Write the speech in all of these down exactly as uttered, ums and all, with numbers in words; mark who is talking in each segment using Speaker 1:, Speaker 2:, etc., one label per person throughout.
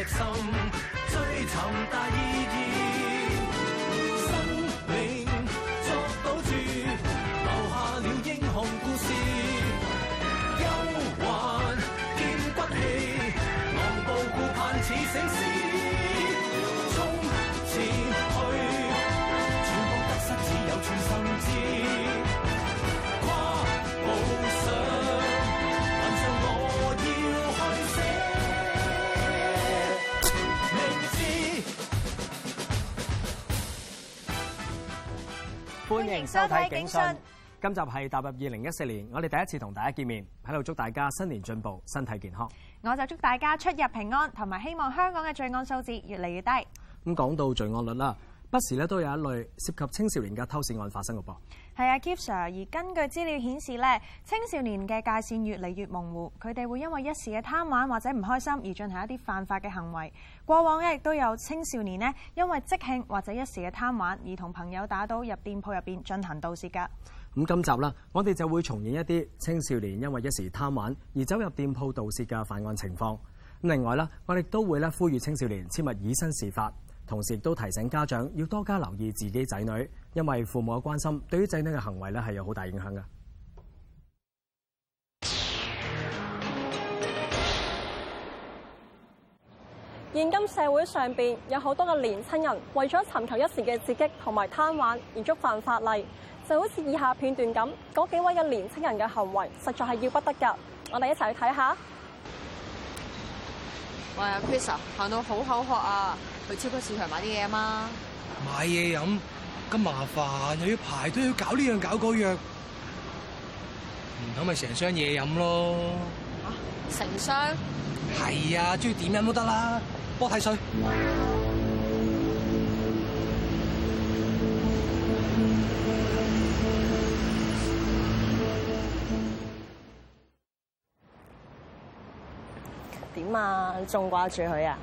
Speaker 1: 赤心，追尋大意義，生命作賭注，留下了英雄故事。憂患見骨氣，昂步顧盼似醒獅，衝前去，全部得失只有全心知。跨步上，雲上我要去寫名字。
Speaker 2: 歡迎收睇警訊。今集係踏入二零一四年，我哋第一次同大家見面，喺度祝大家新年進步，身體健康。
Speaker 3: 我就祝大家出入平安，同埋希望香港嘅罪案數字越嚟越低。
Speaker 2: 咁講到罪案率啦，不時咧都有一類涉及青少年嘅偷竊案發生嘅噃。
Speaker 3: 係啊 Keith Sir，而根據資料顯示咧，青少年嘅界線越嚟越模糊，佢哋會因為一時嘅貪玩或者唔開心而進行一啲犯法嘅行為。過往咧亦都有青少年呢，因為即興或者一時嘅貪玩而同朋友打賭入店鋪入邊進行盜竊㗎。
Speaker 2: 咁今集啦，我哋就會重演一啲青少年因為一時貪玩而走入店鋪盜竊嘅犯案情況。咁另外啦，我哋都會咧呼籲青少年切勿以身試法，同時亦都提醒家長要多加留意自己仔女，因為父母嘅關心對於仔女嘅行為咧係有好大影響嘅。
Speaker 4: 現今社會上邊有好多嘅年輕人為咗尋求一時嘅刺激同埋貪玩而觸犯法例，就好似以下片段咁，嗰幾位嘅年輕人嘅行為實在係要不得㗎。我哋一齊去睇下。
Speaker 5: 喂，阿 Chris 啊，行到好口渴啊，去超級市場買啲嘢啊嘛。
Speaker 6: 買嘢飲咁麻煩，又要排隊，要搞呢樣搞嗰樣，唔通咪成箱嘢飲咯？
Speaker 5: 啊，成箱？
Speaker 6: 係啊，中意點飲都得啦。幫我睇水。
Speaker 4: 點啊？你仲掛住佢啊？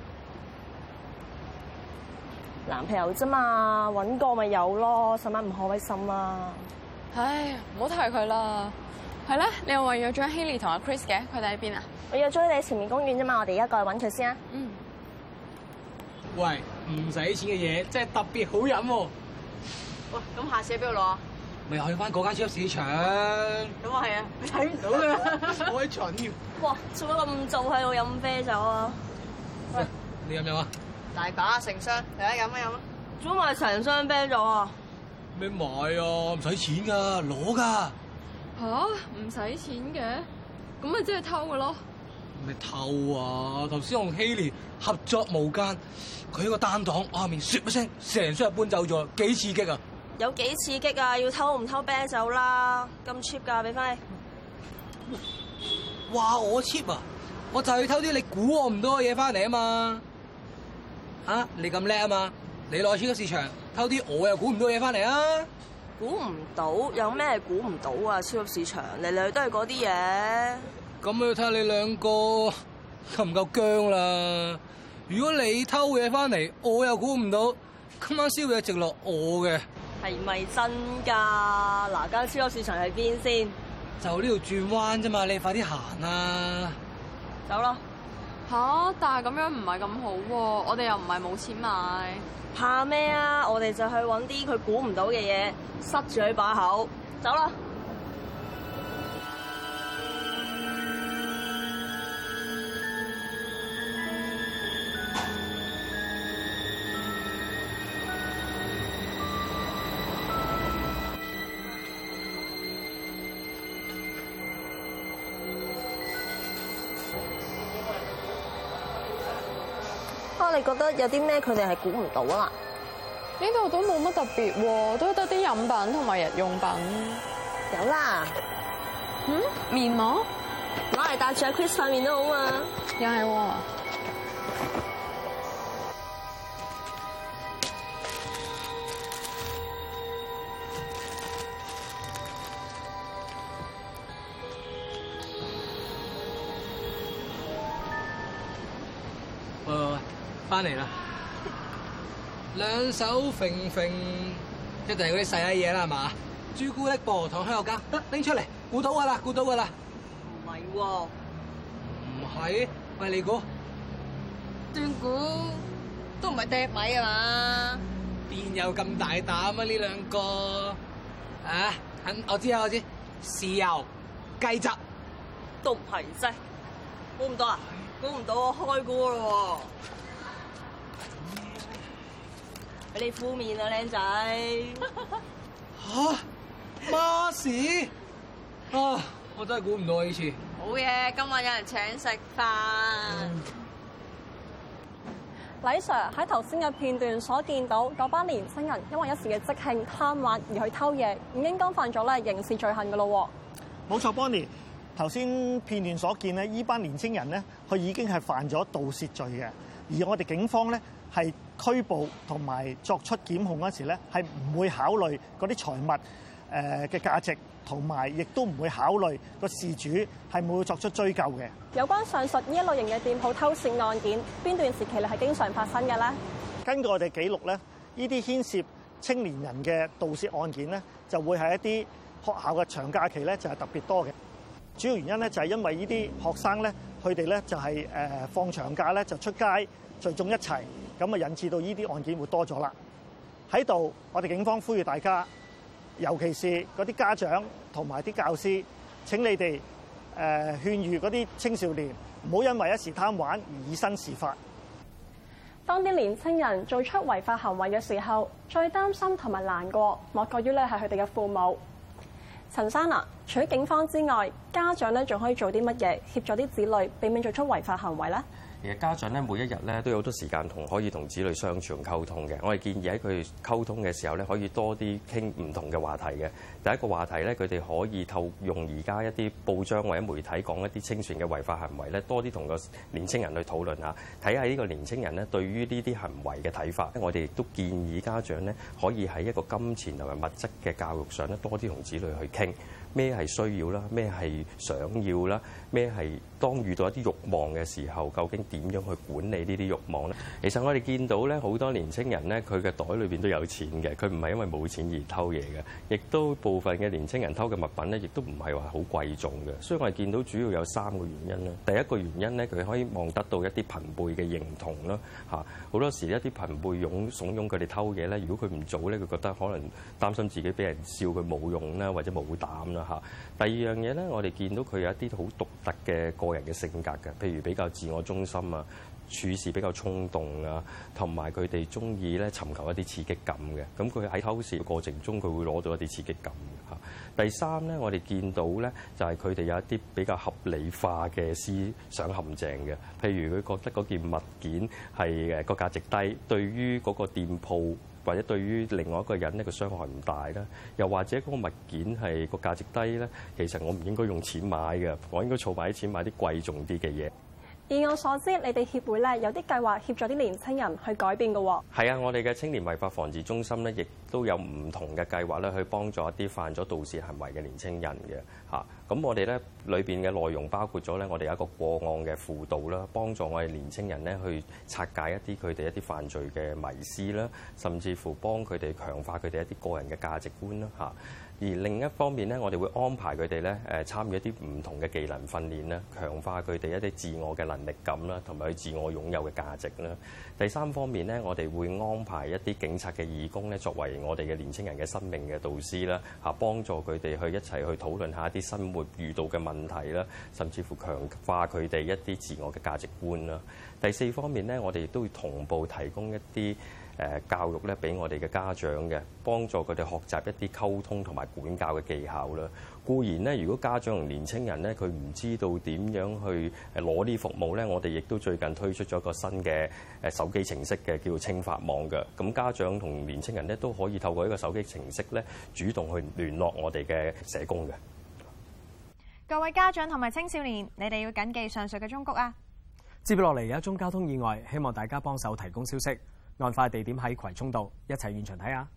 Speaker 4: 男朋友啫嘛，揾個咪有咯，使乜唔開心啊？
Speaker 5: 唉，唔好提佢啦。係咧，你又話約咗 Haley 同阿 Chris 嘅，佢哋喺邊啊？
Speaker 4: 我約咗你喺前面公園啫嘛，我哋而家過去揾佢先啊。
Speaker 5: 嗯。
Speaker 6: 喂，唔使錢嘅嘢真係特別好飲喎。
Speaker 5: 喂，咁下次喺邊度攞啊？
Speaker 6: 咪去翻嗰間超級市場。
Speaker 5: 咁啊係啊，你睇唔到㗎。
Speaker 6: 我喺蠢嘅。
Speaker 4: 哇，做乜咁早喺度飲啤酒啊？
Speaker 6: 喂，你飲唔飲啊？
Speaker 5: 大把成箱，嚟啊飲啊飲啊！
Speaker 4: 做乜買成箱啤酒啊？
Speaker 6: 咩買啊？唔使錢㗎，攞㗎。
Speaker 5: 吓？唔使錢嘅？咁咪即係偷嘅咯？
Speaker 6: 咩偷啊？頭先同 Haley 合作無間，佢喺個單檔我後面唰一聲，成箱搬走咗，幾刺激啊！
Speaker 4: 有幾刺激啊？要偷唔偷啤酒啦？咁 cheap 㗎，俾翻你。
Speaker 6: 哇！我 cheap 啊！我就係偷啲你估我唔到嘅嘢翻嚟啊嘛！啊！你咁叻啊嘛！你落去超級市場偷啲我又估唔到嘢翻嚟啊！
Speaker 4: 估唔到有咩估唔到啊？超級市場嚟嚟去都係嗰啲嘢。
Speaker 6: 咁要睇下你兩個夠唔夠薑啦！如果你偷嘢翻嚟，我又估唔到，今晚宵夜直落我嘅。
Speaker 4: 係咪真㗎？嗱，間超級市場喺邊先？
Speaker 6: 就呢度轉彎啫嘛，你快啲行啊！
Speaker 4: 走啦！
Speaker 5: 吓？但係咁樣唔係咁好喎，我哋又唔係冇錢買。
Speaker 4: 怕咩啊？我哋就去揾啲佢估唔到嘅嘢，塞住佢把口。走啦！啊，你覺得有啲咩佢哋係估唔到啊？
Speaker 5: 呢度都冇乜特別喎，都得啲飲品同埋日用品。
Speaker 4: 有啦，
Speaker 5: 嗯，面膜
Speaker 4: 攞嚟搭住阿 Chris 塊面都好嘛。
Speaker 5: 又係喎。
Speaker 6: 喂喂喂，翻嚟啦！兩手揈揈，一定係嗰啲細嘢啦，係嘛？朱古力、薄荷糖、香口膠，得拎出嚟，估到噶啦，估到噶啦。
Speaker 4: 唔係喎，
Speaker 6: 唔係，喂，你估？
Speaker 5: 斷估都唔係掟米啊嘛？
Speaker 6: 邊有咁大膽啊？呢兩個啊，肯我知啊，我知，豉油雞汁
Speaker 4: 都唔係啫，估唔到啊！估唔到我開估咯喎，俾你敷面啊，靚仔！
Speaker 6: 嚇孖士啊！我真係估唔到啊！呢次
Speaker 5: 好嘢，今晚有人請食飯。
Speaker 4: 黎 Sir 喺頭先嘅片段所見到嗰班年青人因為一時嘅即興貪玩而去偷嘢，已經干犯咗咧刑事罪行噶咯喎。
Speaker 7: 冇錯 ，Bonnie。頭先片段所見咧，依班年青人咧，佢已經係犯咗盜竊罪嘅。而我哋警方咧係拘捕同埋作出檢控嗰時咧，係唔會考慮嗰啲財物誒嘅價值，同埋亦都唔會考慮個事主係冇作出追究嘅。
Speaker 4: 有關上述呢一類型嘅店鋪偷竊案件，邊段時期咧係經常發生嘅咧？根據我哋記錄咧，呢啲牽涉青年人嘅盜竊案件咧，就會係一啲學校嘅長假期咧，就係特別多嘅。主要原因咧就係因為呢啲學生咧，佢哋咧就係誒放長假咧就出街聚眾一齊，咁啊引致到呢啲案件會多咗啦。喺度，我哋警方呼籲大家，尤其是嗰啲家長同埋啲教師，請你哋誒勸喻嗰啲青少年，唔好因為一時貪玩而以身試法。當啲年青人做出違法行為嘅時候，最擔心同埋難過，莫過於咧係佢哋嘅父母。陳生啊，除咗警方之外，家長咧仲可以做啲乜嘢協助啲子女避免做出違法行為咧？
Speaker 8: 其實家長咧每一日咧都有好多時間同可以同子女相處同溝通嘅。我哋建議喺佢溝通嘅時候咧，可以多啲傾唔同嘅話題嘅。第一個話題咧，佢哋可以透用而家一啲報章或者媒體講一啲清算嘅違法行為咧，多啲同個年青人去討論下，睇下呢個年青人咧對於呢啲行為嘅睇法。我哋亦都建議家長咧可以喺一個金錢同埋物質嘅教育上咧多啲同子女去傾。咩係需要啦？咩係想要啦？咩係當遇到一啲慾望嘅時候，究竟點樣去管理呢啲慾望咧？其實我哋見到咧，好多年青人咧，佢嘅袋裏邊都有錢嘅，佢唔係因為冇錢而偷嘢嘅，亦都部分嘅年青人偷嘅物品咧，亦都唔係話好貴重嘅。所以我哋見到主要有三個原因啦。第一個原因咧，佢可以望得到一啲朋輩嘅認同啦，嚇好多時一啲朋輩擁慫恿佢哋偷嘢咧，如果佢唔做咧，佢覺得可能擔心自己俾人笑佢冇用啦，或者冇膽啦。第二樣嘢咧，我哋見到佢有一啲好獨特嘅個人嘅性格嘅，譬如比較自我中心啊，處事比較衝動啊，同埋佢哋中意咧尋求一啲刺激感嘅。咁佢喺偷竊嘅過程中，佢會攞到一啲刺激感嘅嚇。第三咧，我哋見到咧就係佢哋有一啲比較合理化嘅思想陷阱嘅，譬如佢覺得嗰件物件係誒個價值低，對於嗰個店鋪或者對於另外一個人呢個傷害唔大啦，又或者嗰個物件係個價值低咧，其實我唔應該用錢買嘅，我應該儲埋啲錢買啲貴重啲嘅嘢。以我所知，你哋協會咧有啲計劃協助啲年青人去改變嘅喎。係啊，我哋嘅青年違法防治中心咧，亦都有唔同嘅計劃咧，去幫助一啲犯咗盜竊行為嘅年青人嘅嚇。咁我哋咧裏邊嘅內容包括咗咧，我哋有一個個案嘅輔導啦，幫助我哋年青人咧去拆解一啲佢哋一啲犯罪嘅迷思啦，甚至乎幫佢哋強化佢哋一啲個人嘅價值觀啦嚇。而另一方面咧，我哋會安排佢哋咧誒參與一啲唔同嘅技能訓練啦，強化佢哋一啲自我嘅能力感啦，同埋佢自我擁有嘅價值啦。第三方面咧，我哋會安排一啲警察嘅義工咧，作為我哋嘅年青人嘅生命嘅導師啦，嚇幫助佢哋去一齊去討論下一啲生活遇到嘅問題啦，甚至乎強化佢哋一啲自我嘅價值觀啦。第四方面咧，我哋亦都會同步提供一啲誒教育咧，俾我哋嘅家長嘅，幫助佢哋學習一啲溝通同埋管教嘅技巧啦。固然咧，如果家長同年青人咧，佢唔知道點樣去誒攞呢啲服務咧，我哋亦都最近推出咗一個新嘅誒手機程式嘅，叫做青法網嘅。咁家長同年青人咧都可以透過呢個手機程式咧，主動去聯絡我哋嘅社工嘅。
Speaker 3: 各位家長同埋青少年，你哋要謹記上述嘅忠告啊！
Speaker 2: 接落嚟有一宗交通意外，希望大家幫手提供消息。案發地點喺葵涌道，一齊現場睇下。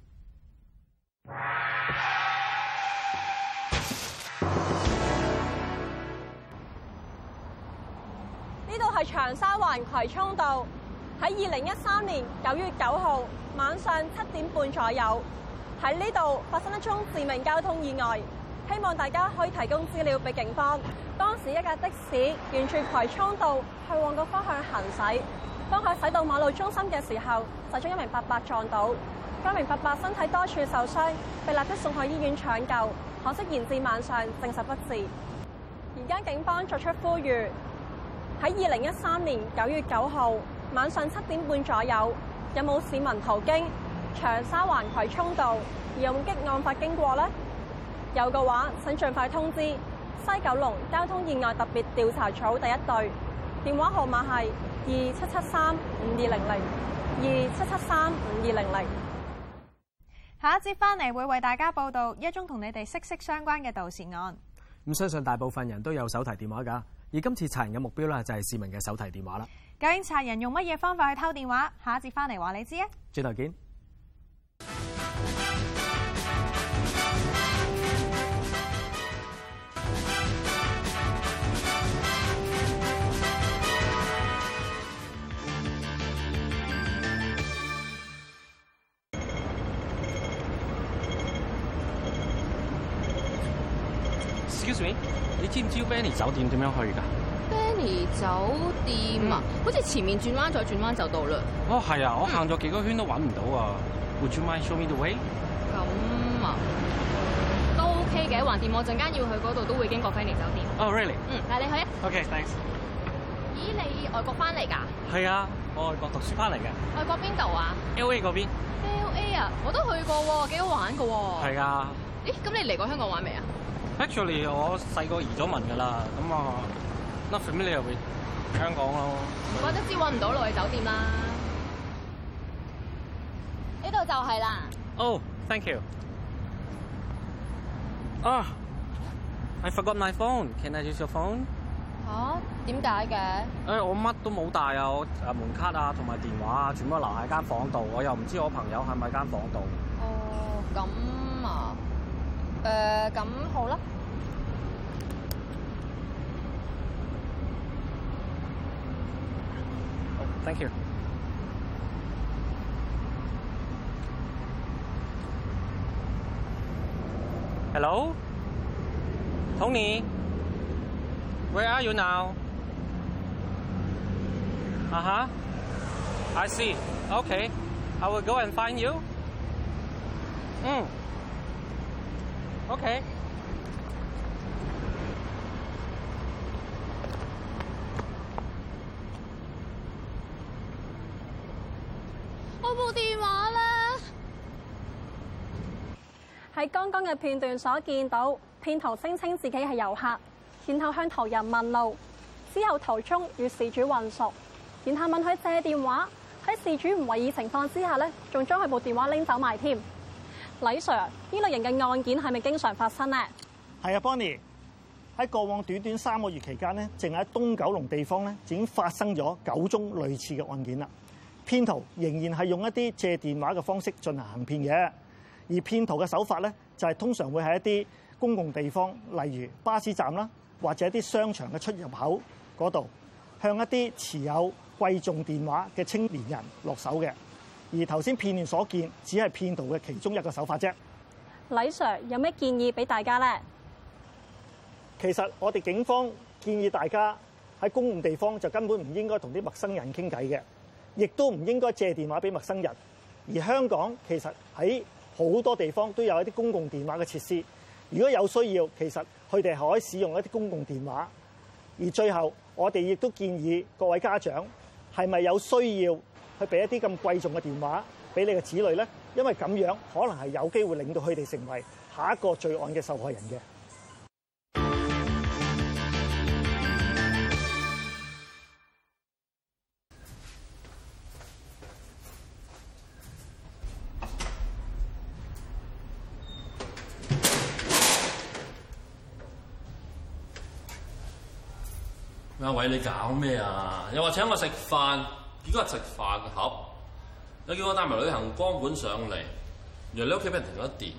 Speaker 4: 呢度係長沙灣葵涌道，喺二零一三年九月九號晚上七點半左右，喺呢度發生一宗致命交通意外。希望大家可以提供資料俾警方。當時一架的士沿住葵涌道去旺角方向行駛， 當佢駛到馬路中心嘅時候，就將一名伯伯撞到。該名伯伯身體多處受傷，被立即送去醫院搶救，可惜延至晚上證實不治。而家警方作出呼籲，喺二零一三年九月九號晚上七點半左右，有冇市民途經長沙灣葵涌道而目擊案發經過呢？有嘅話，請盡快通知西九龍交通意外特別調查組第一隊，電話號碼係二七七三五二零零二七七三五二零零。
Speaker 3: 下一節翻嚟會為大家報道一宗同你哋息息相關嘅盜竊案。
Speaker 2: 咁相信大部分人都有手提電話㗎，而今次賊人嘅目標咧就係市民嘅手提電話啦。
Speaker 3: 究竟賊人用乜嘢方法去偷電話？下一節翻嚟話你知啊！
Speaker 2: 轉頭見。
Speaker 9: Excuse me，你知唔知 Benny 酒店點樣去㗎
Speaker 5: Benny 酒店啊，嗯、好似前面轉彎再轉彎就到啦。
Speaker 9: 哦，係啊，我行咗幾個圈都揾唔到啊。嗯、Would you mind show me the way？
Speaker 5: 咁啊，都 OK 嘅。橫掂我陣間要去嗰度都會經過 Benny 酒店。
Speaker 9: 哦、oh，really？
Speaker 5: 嗯，帶你去啊。
Speaker 9: OK，thanks。
Speaker 5: 咦，你外國翻嚟㗎？
Speaker 9: 係啊，我外國讀書翻嚟嘅。
Speaker 5: 外國邊度啊
Speaker 9: ？L A 嗰邊。
Speaker 5: L A 啊，我都去過喎，幾好玩㗎喎。
Speaker 9: 係啊。
Speaker 5: 咦，咁你嚟過香港玩未啊？
Speaker 9: Actually， 我細個移咗民㗎啦，咁啊 not familiar with 香港咯。
Speaker 5: 唔怪得知揾唔到路去酒店啦。呢度就係啦。
Speaker 9: Oh, thank you. 啊、ah, ，I forgot my phone. Can I use your phone？
Speaker 5: 嚇？點解嘅？誒、
Speaker 9: 哎，我乜都冇帶啊，我誒門卡啊同埋電話啊，全部留喺間房度，我又唔知我朋友係咪間房度。
Speaker 5: 哦，咁啊。誒、呃，咁好啦。
Speaker 9: Oh, thank you. Hello, Tony. Where are you now? Uh huh. I see. Okay. I will go and find you. 嗯。OK。
Speaker 5: 我部電話咧，
Speaker 4: 喺剛剛嘅片段所見到，騙徒聲稱自己係遊客，然後向途人問路，之後途中與事主混熟，然後問佢借電話，喺事主唔為意情況之下咧，仲將佢部電話拎走埋添。李 Sir， 呢類型嘅案件係咪經常發生呢？
Speaker 7: 係啊 ，Bonnie， 喺過往短短三個月期間咧，淨喺東九龍地方咧，已經發生咗九宗類似嘅案件啦。騙徒仍然係用一啲借電話嘅方式進行行騙嘅，而騙徒嘅手法咧，就係通常會喺一啲公共地方，例如巴士站啦，或者一啲商場嘅出入口嗰度，向一啲持有貴重電話嘅青年人落手嘅。而頭先片段所見，只係騙徒嘅其中一個手法啫。
Speaker 4: 李 Sir 有咩建議俾大家呢？
Speaker 7: 其實我哋警方建議大家喺公共地方就根本唔應該同啲陌生人傾偈嘅，亦都唔應該借電話俾陌生人。而香港其實喺好多地方都有一啲公共電話嘅設施，如果有需要，其實佢哋係可以使用一啲公共電話。而最後，我哋亦都建議各位家長係咪有需要去俾一啲咁貴重嘅電話俾你嘅子女呢？因為咁樣可能係有機會令到佢哋成為下一個罪案嘅受害人嘅。
Speaker 10: 阿偉，你搞咩啊？又話請我食飯，結果係食飯盒。又叫我帶埋旅行光盤上嚟，原來你屋企俾人停咗電。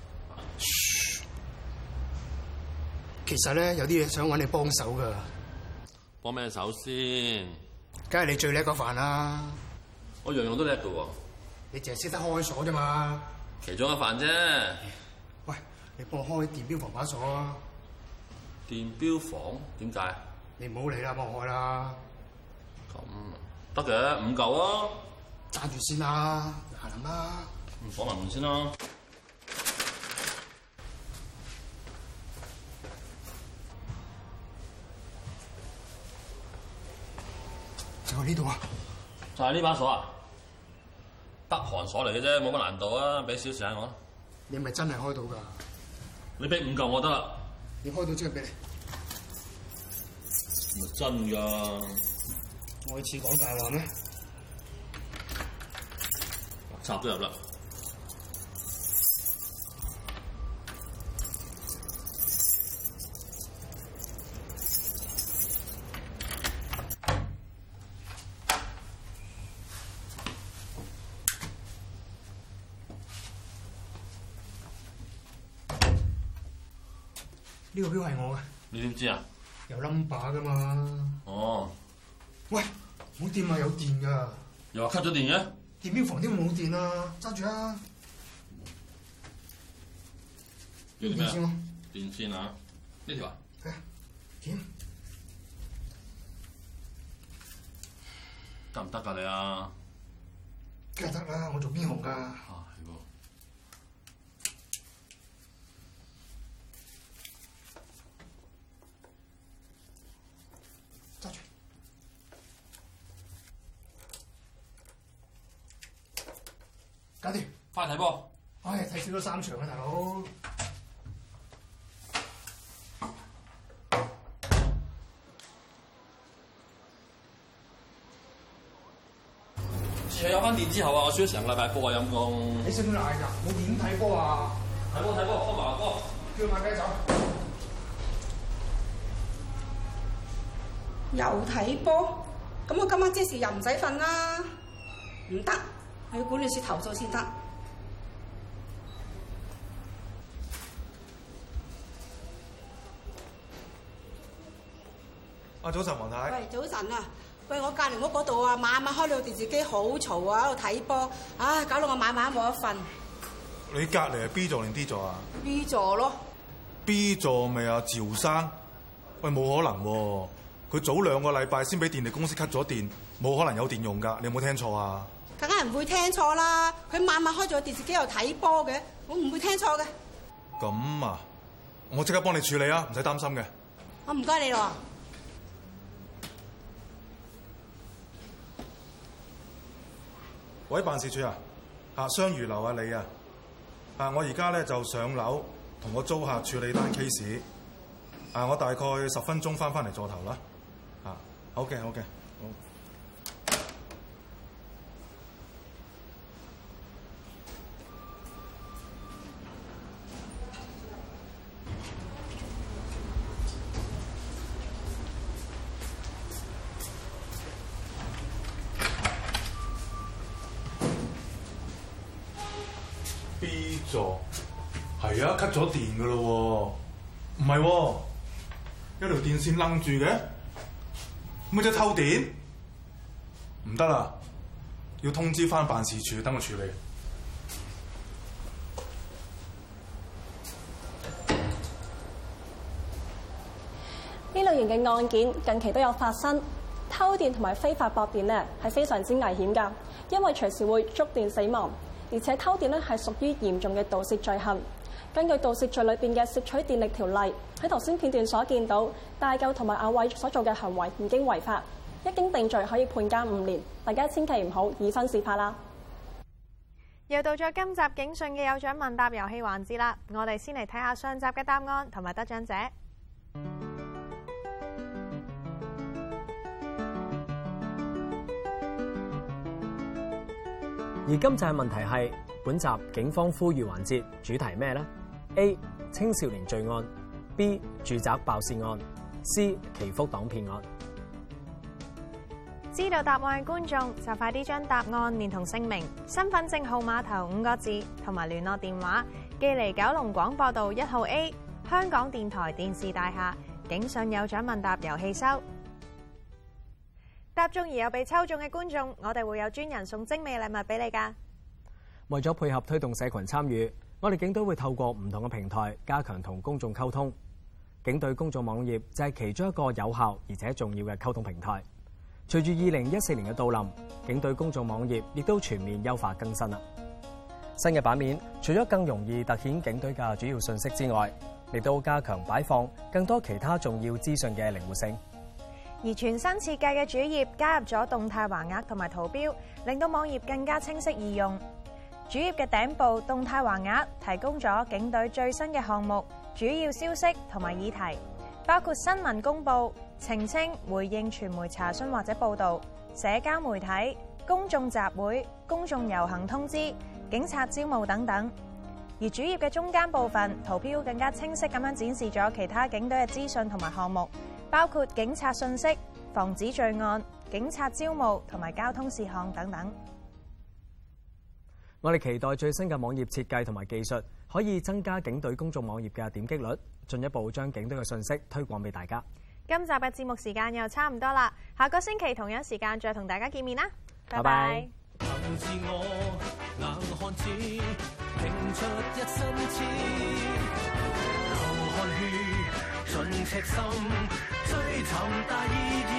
Speaker 11: 其實咧，有啲嘢想揾你幫手噶。
Speaker 10: 幫咩手先？
Speaker 11: 梗係你最叻個飯啦！
Speaker 10: 我樣樣都叻㗎喎。
Speaker 11: 你淨係識得開鎖啫嘛。
Speaker 10: 其中一飯啫。
Speaker 11: 喂，你幫我開電錶房把鎖啊！
Speaker 10: 電錶房點解？
Speaker 11: 你唔好理啦，幫我開啦。
Speaker 10: 咁得嘅，五嚿啊！
Speaker 11: 揸住先啦，行啦。
Speaker 10: 咁鎖埋門先啦。
Speaker 11: 就喺呢度啊！
Speaker 10: 就係呢把鎖啊？北韓鎖嚟嘅啫，冇乜難度啊！俾少時間我。
Speaker 11: 你咪真係開到㗎？
Speaker 10: 你俾五嚿我得啦。
Speaker 11: 你開到即係俾你。
Speaker 10: 咪真㗎？
Speaker 11: 我似講大話咩？
Speaker 10: 插都入啦。
Speaker 11: 呢個錶係我嘅。
Speaker 10: 你點知啊？
Speaker 11: 有 number 㗎嘛？
Speaker 10: 哦。
Speaker 11: 喂，唔好掂啊，有電㗎。
Speaker 10: 又話 cut 咗電嘅？
Speaker 11: 電錶房點會冇電啊？揸住啊！
Speaker 10: 要啲咩啊？
Speaker 11: 電線咯。
Speaker 10: 電線啊？呢條啊？
Speaker 11: 係。點？
Speaker 10: 得唔得㗎你啊？
Speaker 11: 梗係得啦，我做邊行㗎？
Speaker 10: 啊，係喎。
Speaker 11: 揸住。搞掂。
Speaker 10: 翻去睇波。
Speaker 11: 唉，睇少咗三場啊，大佬。
Speaker 10: 自從有翻電之後啊，我輸咗成個禮拜波啊，陰公。
Speaker 11: 你識唔識嗌㗎？我點睇波啊？
Speaker 10: 睇波睇波，開埋個波。
Speaker 11: 叫馬雞走。
Speaker 12: 又睇波？咁我今晚即時又唔使瞓啦。唔得，去管理處投訴先得。
Speaker 13: 啊，早晨，黃太。
Speaker 12: 喂，早晨啊！喂，我隔離屋嗰度啊，晚晚開到電視機好嘈啊，喺度睇波，唉，搞到我晚晚冇得瞓。
Speaker 13: 你隔離係 B 座定 D 座啊
Speaker 12: ？B 座咯。
Speaker 13: B 座咪阿趙生？喂，冇可能喎、啊！佢早兩個禮拜先俾電力公司 cut 咗電，冇可能有電用㗎。你有冇聽錯啊？
Speaker 12: 梗係唔會聽錯啦！佢晚晚開咗電視機又睇波嘅，我唔會聽錯嘅。
Speaker 13: 咁啊，我即刻幫你處理啊，唔使擔心嘅。
Speaker 12: 我唔該你咯。
Speaker 13: 喂，辦事處啊，啊雙魚樓啊你啊，啊我而家咧就上樓同個租客處理單 case， 啊我大概十分鐘翻返嚟座頭啦，啊好嘅好嘅好。B 座係啊 ，cut 咗電噶咯喎，唔係喎，一條電線楞住嘅，咪即係偷電？唔得啦，要通知翻辦事處等我處理。
Speaker 4: 呢類型嘅案件近期都有發生，偷電同埋非法駁電咧係非常之危險㗎，因為隨時會觸電死亡。而且偷電咧係屬於嚴重嘅盜竊罪行。根據盜竊罪裏邊嘅竊取電力條例，喺頭先片段所見到，大舊同埋阿偉所做嘅行為已經違法，一經定罪可以判監五年。大家千祈唔好以身試法啦。
Speaker 3: 又到咗今集警訊嘅有獎問答遊戲環節啦，我哋先嚟睇下上集嘅答案同埋得獎者。
Speaker 2: 而今集嘅問題係本集警方呼籲環節主題咩呢？ A. 青少年罪案 B. 住宅爆竊案 C. 祈福黨騙案。
Speaker 3: 知道答案嘅觀眾就快啲將答案連同姓名、身份證號碼頭五個字同埋聯絡電話寄嚟九龍廣播道一號 A 香港電台電視大廈警訊有獎問答遊戲收。答中而有被抽中嘅觀眾，我哋會有專人送精美禮物俾你㗎。
Speaker 2: 為咗配合推動社群參與，我哋警隊會透過唔同嘅平台加強同公眾溝通。警隊公眾網頁就係其中一個有效而且重要嘅溝通平台。 隨住二零一四年嘅到臨，警隊公眾網頁亦都全面優化更新啦。新嘅版面除咗更容易突顯警隊嘅主要信息之外，亦都加強擺放更多其他重要資訊嘅靈活性。
Speaker 3: 而全新設計嘅主頁加入咗動態橫額同埋圖標，令到網頁更加清晰易用。主頁嘅頂部動態橫額提供咗警隊最新嘅項目、主要消息同埋議題，包括新聞公佈、澄清、回應傳媒查詢或者報導、社交媒體、公眾集會、公眾遊行通知、警察招募等等。而主頁嘅中間部分圖標更加清晰咁樣展示咗其他警隊嘅資訊同埋項目，包括警察信息、防止罪案、警察招募同埋交通事項等等。
Speaker 2: 我哋期待最新嘅網頁設計同埋技術，可以增加警隊公眾網頁嘅點擊率，進一步將警隊嘅信息推廣俾大家。
Speaker 3: 今集嘅節目時間又差唔多啦，下個星期同樣時間再同大家見面啦，拜拜。
Speaker 1: 憑自我硬漢子，拼出一身刺，流汗血盡赤心，追尋大意義。